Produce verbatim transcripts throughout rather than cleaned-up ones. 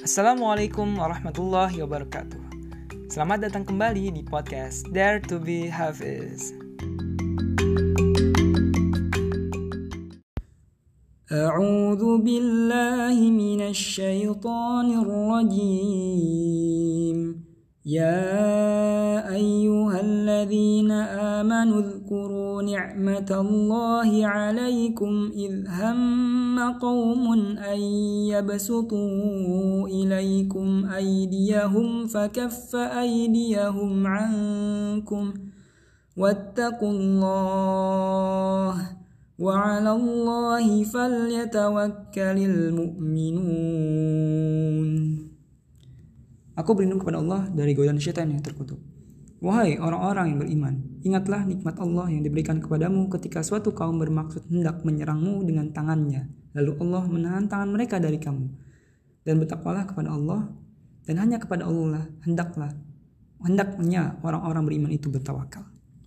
Assalamualaikum warahmatullahi wabarakatuh. Selamat datang kembali di podcast Dare to be Hafiz. A'udzu billahi minasy syaithanir rajim. Ya ayyuhalladzina amanu dzkuru ni'matallahi 'alaikum idh hamma qaumun an yabsutu ilaikum aydiyahum fakaffa aydiyahum 'ankum wattaqullaha wa 'alallahi falyatawakkalul mu'minun. Aku berlindung kepada Allah dari godaan syaitan yang terkutuk. Wahai orang-orang yang beriman, ingatlah nikmat Allah yang diberikan kepadamu ketika suatu kaum bermaksud hendak menyerangmu dengan tangannya. Lalu Allah menahan tangan mereka dari kamu. Dan bertakwalah kepada Allah, dan hanya kepada Allah hendaklah hendaknya orang-orang beriman itu bertawakal.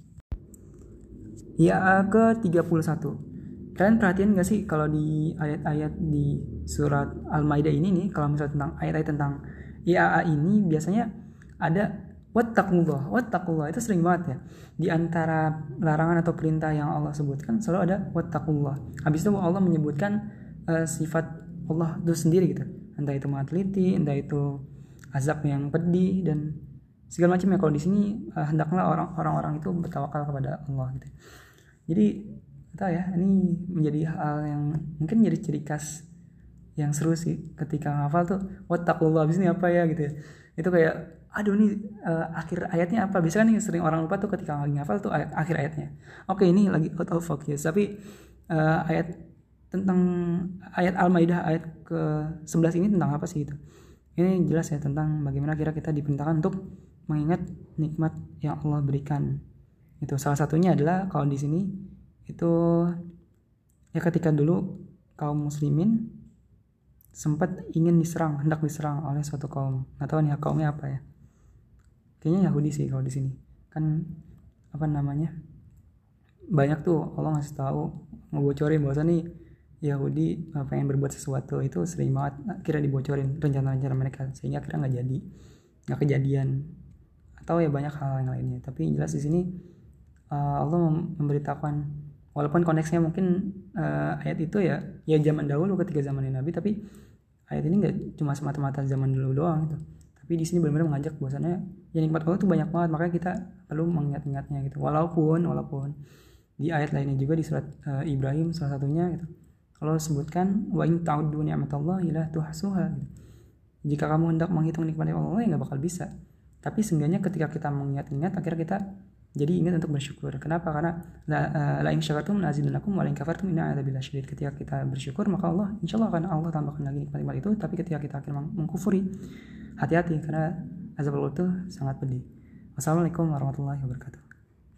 Ya ke tiga puluh satu. Kalian perhatiin gak sih kalau di ayat-ayat di surat Al-Maidah ini nih, kalau misalnya tentang ayat-ayat tentang I A A ini biasanya ada wattaqullah. Wattaqullah itu sering banget ya. Di antara larangan atau perintah yang Allah sebutkan selalu ada wattaqullah. Habis itu Allah menyebutkan uh, sifat Allah itu sendiri gitu. Entah itu maha teliti, entah itu azab yang pedih dan segala macam ya. Kalau di sini uh, hendaklah orang-orang itu bertawakal kepada Allah gitu. Jadi tahu ya, ini menjadi hal yang mungkin jadi ciri khas yang seru sih ketika ngafal tuh wattaqullah habis ini apa ya gitu ya. Itu kayak aduh nih uh, akhir ayatnya apa, biasanya kan nih sering orang lupa tuh ketika lagi ngafal tuh ayat, akhir ayatnya. Oke, ini lagi out of focus tapi uh, ayat tentang ayat Al-Maidah ayat ke sebelas ini tentang apa sih gitu. Ini jelas ya tentang bagaimana kira kita diperintahkan untuk mengingat nikmat yang Allah berikan. Itu salah satunya adalah kalau di sini itu ya ketika dulu kaum muslimin sempat ingin diserang, hendak diserang oleh suatu kaum. Nggak tahu nih kaumnya apa ya. Kayaknya Yahudi sih kalau di sini. Kan apa namanya? Banyak tuh Allah ngasih tahu, ngebocorin bahwa nih Yahudi pengen berbuat sesuatu, itu sering banget kira dibocorin rencana-rencana mereka sehingga akhirnya nggak jadi, nggak kejadian. Atau ya banyak hal yang lainnya. Tapi jelas di sini uh, Allah memberitakan, walaupun konteksnya mungkin uh, ayat itu ya ya zaman dahulu ketika zaman Nabi, tapi ayat ini nggak cuma semata-mata zaman dulu doang gitu. Tapi di sini benar-benar mengajak bahwasannya ya nikmat Allah itu banyak banget, makanya kita perlu mengingat-ingatnya gitu. Walaupun walaupun di ayat lainnya juga di surat uh, Ibrahim salah satunya gitu, Allah sebutkan wa in ta'uddu ni'matallahi la tuhsuha gitu. Jika kamu hendak menghitung nikmat Allah ya nggak bakal bisa. Tapi seenggaknya ketika kita mengingat-ingat akhirnya kita jadi ingat untuk bersyukur. Kenapa? Karena la, la in syakartum la azidannakum wa la in kafartum inna adzabi lasyadid. Ketika kita bersyukur maka Allah insyaallah akan Allah tambahkan lagi nikmat-nikmat itu. Tapi ketika kita akhirnya mengkufuri, hati-hati karena azab Allah itu sangat pedih. Wassalamualaikum warahmatullahi wabarakatuh.